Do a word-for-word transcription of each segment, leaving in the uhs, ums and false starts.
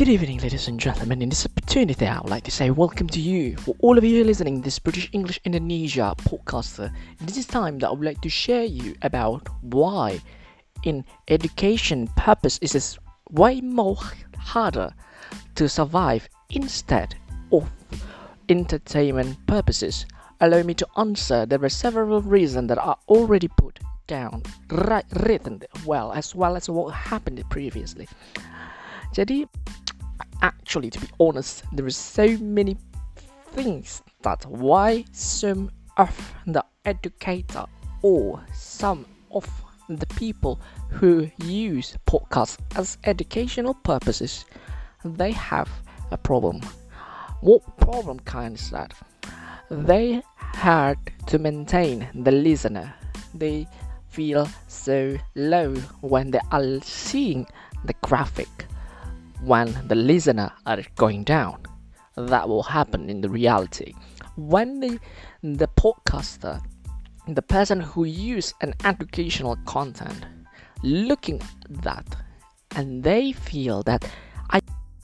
Good evening, ladies and gentlemen. In this opportunity, I would like to say welcome to you, for all of you listening this British English Indonesia podcaster. This is time that I would like to share you about why, in education purpose, it is way more harder to survive instead of entertainment purposes. Allow me to answer. There are several reasons that are already put down, right, written well, as well as what happened previously. Jadi, actually, to be honest, there are so many things that why some of the educator or some of the people who use podcasts as educational purposes, they have a problem. What problem kind is that? They had to maintain the listener. They feel so low when they are seeing the graphic. When the listener are going down, that will happen in the reality. When the, the podcaster, the person who use an educational content, looking at that, and they feel that I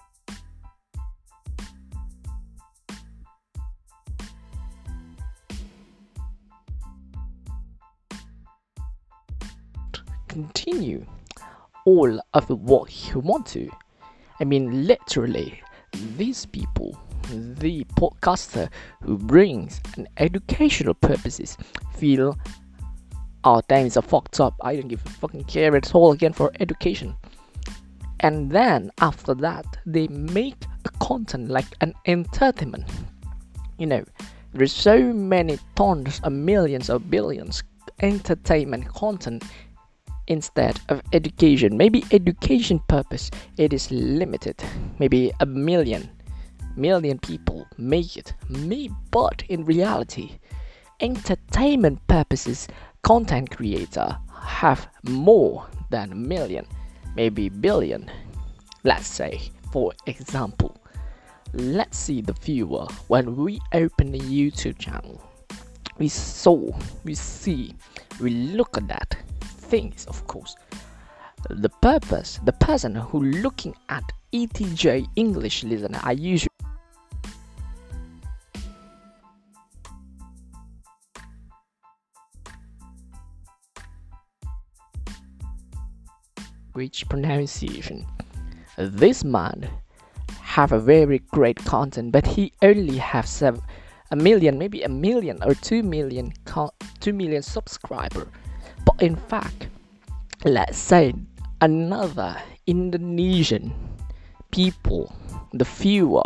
continue all of what you want to. I mean, literally, these people, the podcaster who brings an educational purposes, feel, oh damn, it's a fucked up. I don't give a fucking care at all again for education. And then after that, they make a content like an entertainment. You know, there's so many tons of millions or billions entertainment content. Instead of education, maybe education purpose, it is limited. Maybe a million, million people make it. Me, but in reality, entertainment purposes, content creator have more than a million, maybe billion. Let's say, for example, let's see the viewer when we open the YouTube channel. We saw, we see, we look at that. Things, of course, the purpose, the person who looking at E T J English listener, I usually which pronunciation. This man have a very great content, but he only have seven, a million, maybe a million or two million, two million subscriber. But in fact, let's say another Indonesian people, the viewer,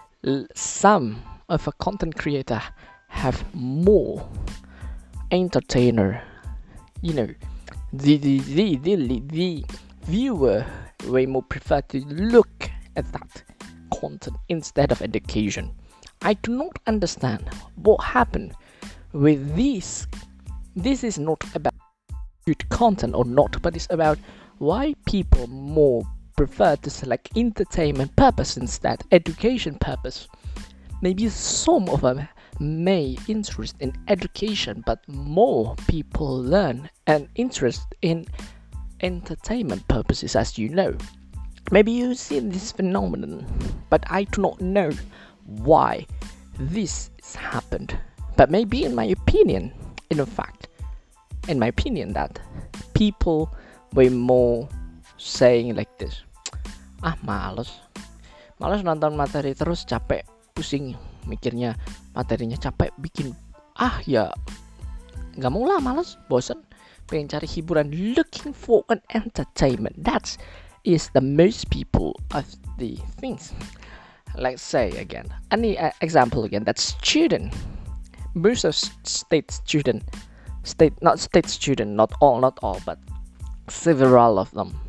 some of a content creator have more entertainer. You know, the the the the, the viewer way more prefer to look at that content instead of education. I do not understand what happened with this. This is not about good content or not, but it's about why people more prefer to select entertainment purpose instead education purpose. Maybe some of them may interest in education, but more people learn and interest in entertainment purposes, as you know. Maybe you've seen this phenomenon, but I do not know why this has happened. But maybe in my opinion, in fact, in my opinion, that people were more saying like this, ah males males nonton materi terus, capek, pusing mikirnya, materinya capek, bikin ah ya nggak mau lah, males, bosen, pengen cari hiburan, looking for an entertainment. That is the most people of the things. Let's say again, any uh, example again, that student, most of state student State, not state student, not all, not all, but several of them,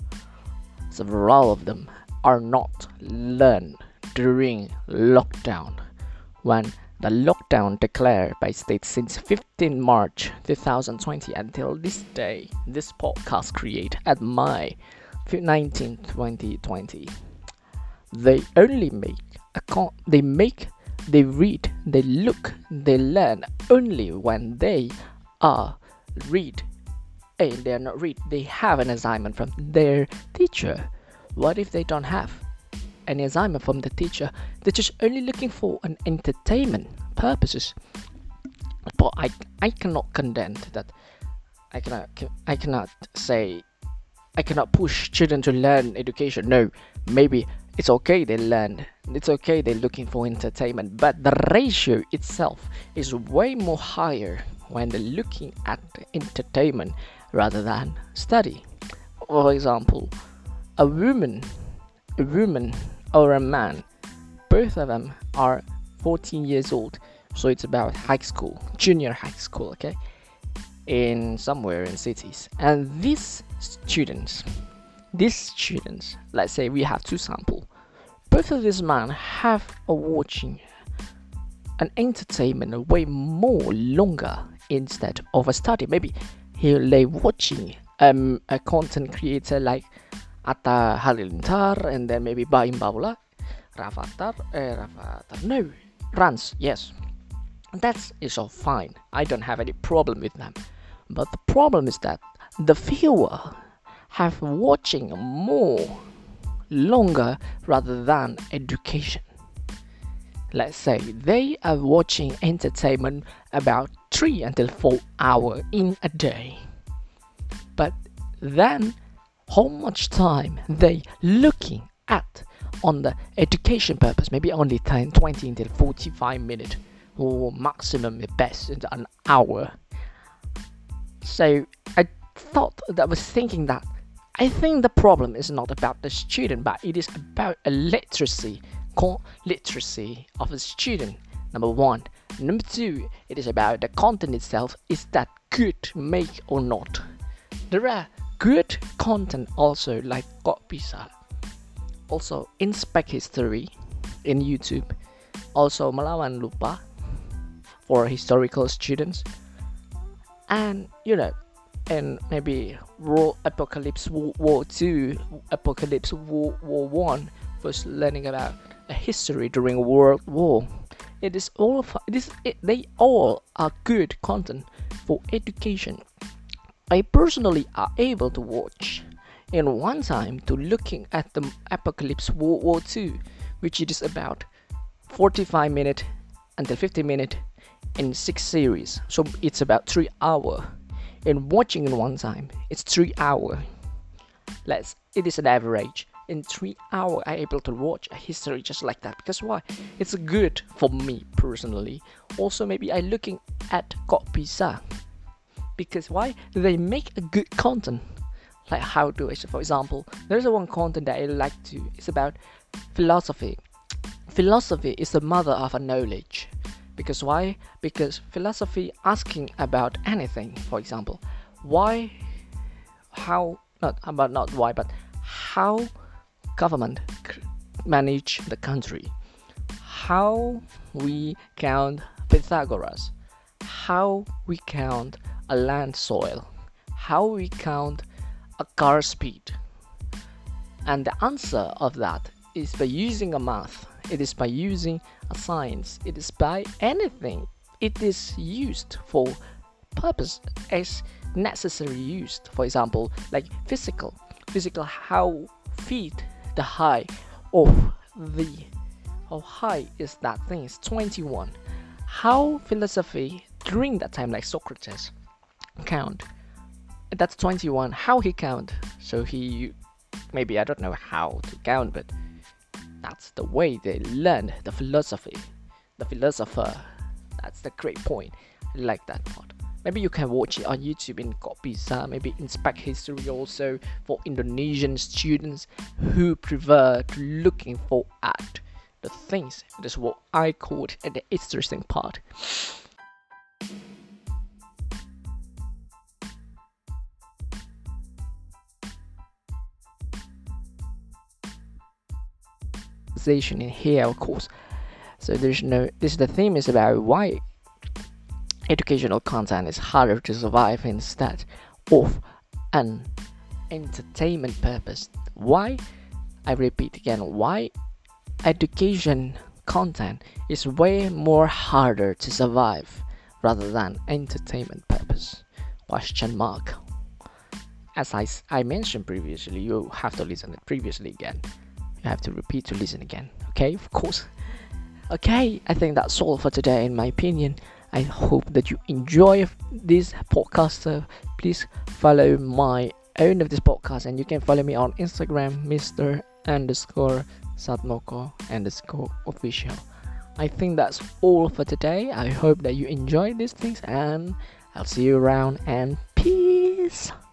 several of them are not learned during lockdown. When the lockdown declared by state since fifteenth March twenty twenty until this day, this podcast created at May nineteenth twenty twenty, they only make a con- they make, they read, they look, they learn only when they are read, and they're not read, they have an assignment from their teacher. What if they don't have? any assignment from the teacher. They're just only looking for an entertainment purposes. But I I cannot condemn that. I cannot I cannot say I cannot push children to learn education. No, maybe it's okay they learn. It's okay they're looking for entertainment, but the ratio itself is way more higher when they're looking at entertainment rather than study. For example, a woman, a woman or a man, both of them are fourteen years old. So it's about high school, junior high school, okay, in somewhere in cities. And these students, these students, let's say we have two samples. Both of these men have a watching an entertainment way more longer instead of a study. Maybe here they watching um a content creator like Atta Halilintar, and then maybe Baim Baula, Rafathar, eh, Rafathar, no, Rans, yes. That is all fine. I don't have any problem with them. But the problem is that the viewer have watching more longer rather than education. Let's say they are watching entertainment about three until four hours in a day. But then how much time they looking at on the education purpose? Maybe only ten, twenty until forty-five minutes, or maximum at best an hour. So I thought that was thinking that I think the problem is not about the student, but it is about a literacy, literacy of a student. Number one. Number two, it is about the content itself. Is that good to make or not? There are good content also like Kok Bisa, also Inspect History in YouTube, also Melawan Lupa for historical students, and you know, and maybe War Apocalypse War Two, Apocalypse War War One, first learning about a history during World War. It is all of it is it, they all are good content for education. I personally are able to watch in one time to looking at the Apocalypse World War Two, which it is about forty-five minutes until fifty minutes in six series. So it's about three hours. In watching in one time, it's three hours. Let's it is an average. In three hours, I'm able to watch a history just like that. Because why? It's good for me personally. Also, maybe I looking at Kok Bisa. Because why? They make a good content. Like how do I, for example, there's a one content that I like to. It's about philosophy. Philosophy is the mother of a knowledge. Because why? Because philosophy asking about anything. For example, why, how, not about not why, but how government manage the country, how we count Pythagoras, how we count a land soil, how we count a car speed. And the answer of that is by using a math, it is by using a science, it is by anything. It is used for purpose as necessary used. For example, like physical, physical how feet the height of the how high is that thing is twenty-one. How philosophy during that time, like Socrates, count, that's twenty-one. How he count? So he maybe I don't know how to count, but that's the way they learn the philosophy, the philosopher. That's the great point. I like that part. Maybe you can watch it on YouTube in Kok Bisa, maybe Inspect History also for Indonesian students who prefer to looking for at the things. That's what I call it the interesting part. In here, of course. So there's no. This the theme is about why educational content is harder to survive instead of an entertainment purpose. Why? I repeat again. Why education content is way more harder to survive rather than entertainment purpose? Question mark. As I I mentioned previously, you have to listen it previously again. you have to repeat to listen again. Okay, of course. Okay, I think that's all for today, in my opinion. I hope that you enjoy this podcast. So please follow my own of this podcast, and you can follow me on Instagram, Mister underscore Satmoko underscore official. I think that's all for today. I hope that you enjoyed these things, and I'll see you around, and peace.